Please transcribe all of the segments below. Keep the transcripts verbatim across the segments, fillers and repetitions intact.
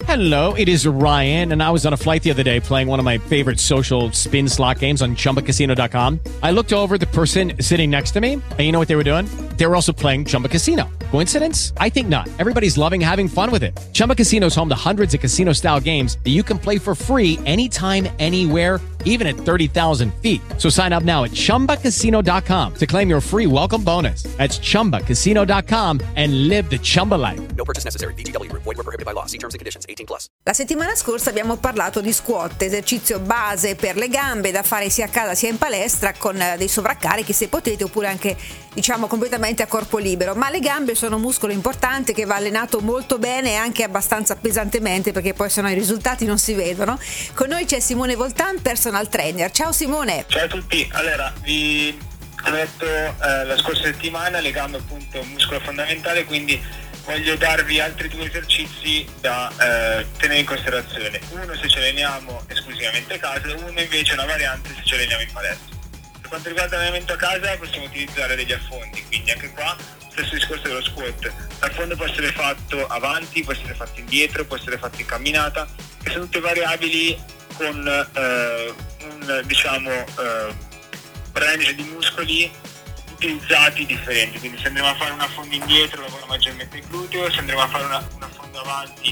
Hello, it is Ryan, and I was on a flight the other day playing one of my favorite social spin slot games on Chumba Casino dot com. I looked over at the person sitting next to me, and you know what they were doing? They were also playing Chumba Casino. Coincidence? I think not. Everybody's loving having fun with it. Chumba Casino is home to hundreds of casino-style games that you can play for free anytime, anywhere, even at thirty thousand feet. So sign up now at Chumba Casino dot com to claim your free welcome bonus. That's Chumba Casino dot com and live the Chumba life. No purchase necessary. V G W. Void where prohibited by law. See terms and conditions. eighteen plus. La settimana scorsa abbiamo parlato di squat, esercizio base per le gambe da fare sia a casa sia in palestra con dei sovraccarichi se potete, oppure anche diciamo completamente a corpo libero. Ma le gambe sono un muscolo importante che va allenato molto bene e anche abbastanza pesantemente, perché poi sennò i risultati non si vedono. Con noi c'è Simone Voltan, personal trainer. Ciao Simone. Ciao a tutti. Allora, vi ho detto eh, la scorsa settimana le gambe appunto un muscolo fondamentale, quindi voglio darvi altri due esercizi da eh, tenere in considerazione. Uno se ci alleniamo esclusivamente a casa, uno invece è una variante se ci alleniamo in palestra. Per quanto riguarda l'allenamento a casa possiamo utilizzare degli affondi, quindi anche qua stesso discorso dello squat. L'affondo può essere fatto avanti, può essere fatto indietro, può essere fatto in camminata, che sono tutte variabili con eh, un diciamo eh, range di muscoli utilizzati differenti. Quindi se andremo a fare un affondo indietro lavora maggiormente il gluteo, se andremo a fare una, un affondo avanti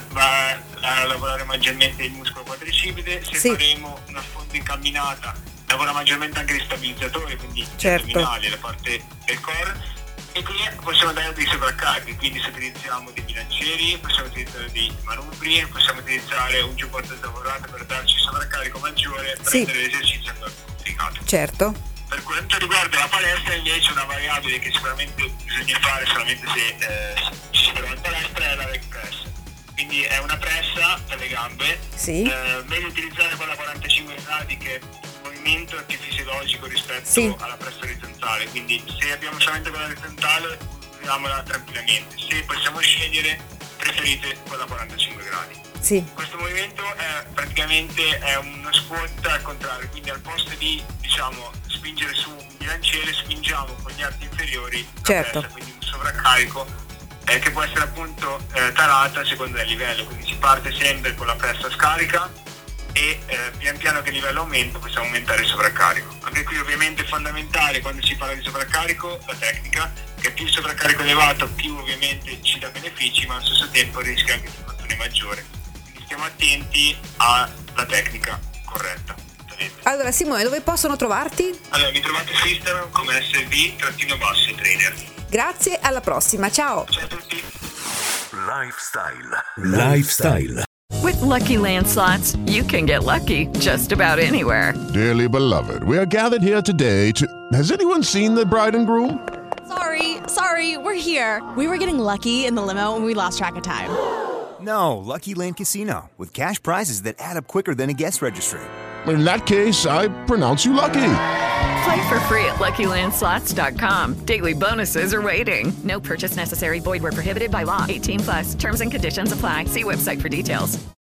va a lavorare maggiormente il muscolo quadricipite, se sì. faremo un affondo in camminata lavora maggiormente anche gli stabilizzatori, quindi certo. gli addominali, la parte del core. E qui possiamo dare dei sovraccarichi, quindi se utilizziamo dei bilancieri, possiamo utilizzare dei manubri, possiamo utilizzare un giubbotto lavorato per darci sovraccarico maggiore per sì. rendere l'esercizio ancora più complicato. Certo. Per quanto riguarda la palestra invece una variabile che sicuramente bisogna fare solamente se eh, ci si trova in palestra è la leg press. Quindi è una pressa per le gambe, sì. eh, meglio utilizzare quella a quarantacinque gradi che il movimento è più fisiologico rispetto sì. alla pressa orizzontale, quindi se abbiamo solamente quella orizzontale usiamola tranquillamente, se possiamo scegliere preferite quella a quarantacinque gradi. Sì. Questo movimento è praticamente è uno squat al contrario, quindi al posto di diciamo spingere su un bilanciere spingiamo con gli arti inferiori la certo. pressa, quindi un sovraccarico eh, che può essere appunto eh, tarata a seconda del livello, quindi si parte sempre con la pressa scarica e eh, pian piano che il livello aumenta possiamo aumentare il sovraccarico. Anche qui ovviamente è fondamentale quando si parla di sovraccarico la tecnica, che più il sovraccarico elevato più ovviamente ci dà benefici, ma allo stesso tempo rischia anche di infortune maggiore. Quindi stiamo attenti alla tecnica corretta. Allora Simone, dove possono trovarti? Allora mi trovate su Instagram come S V basso trainer. Grazie, alla prossima, ciao. Ciao a tutti. Lifestyle. Lifestyle. With Lucky Land Slots, you can get lucky just about anywhere. Dearly beloved, we are gathered here today to... Has anyone seen the bride and groom? Sorry, sorry, we're here. We were getting lucky in the limo and we lost track of time. No, Lucky Land Casino, with cash prizes that add up quicker than a guest registry. In that case, I pronounce you lucky. Play for free at Lucky Land Slots dot com. Daily bonuses are waiting. No purchase necessary. Void where prohibited by law. eighteen plus. Terms and conditions apply. See website for details.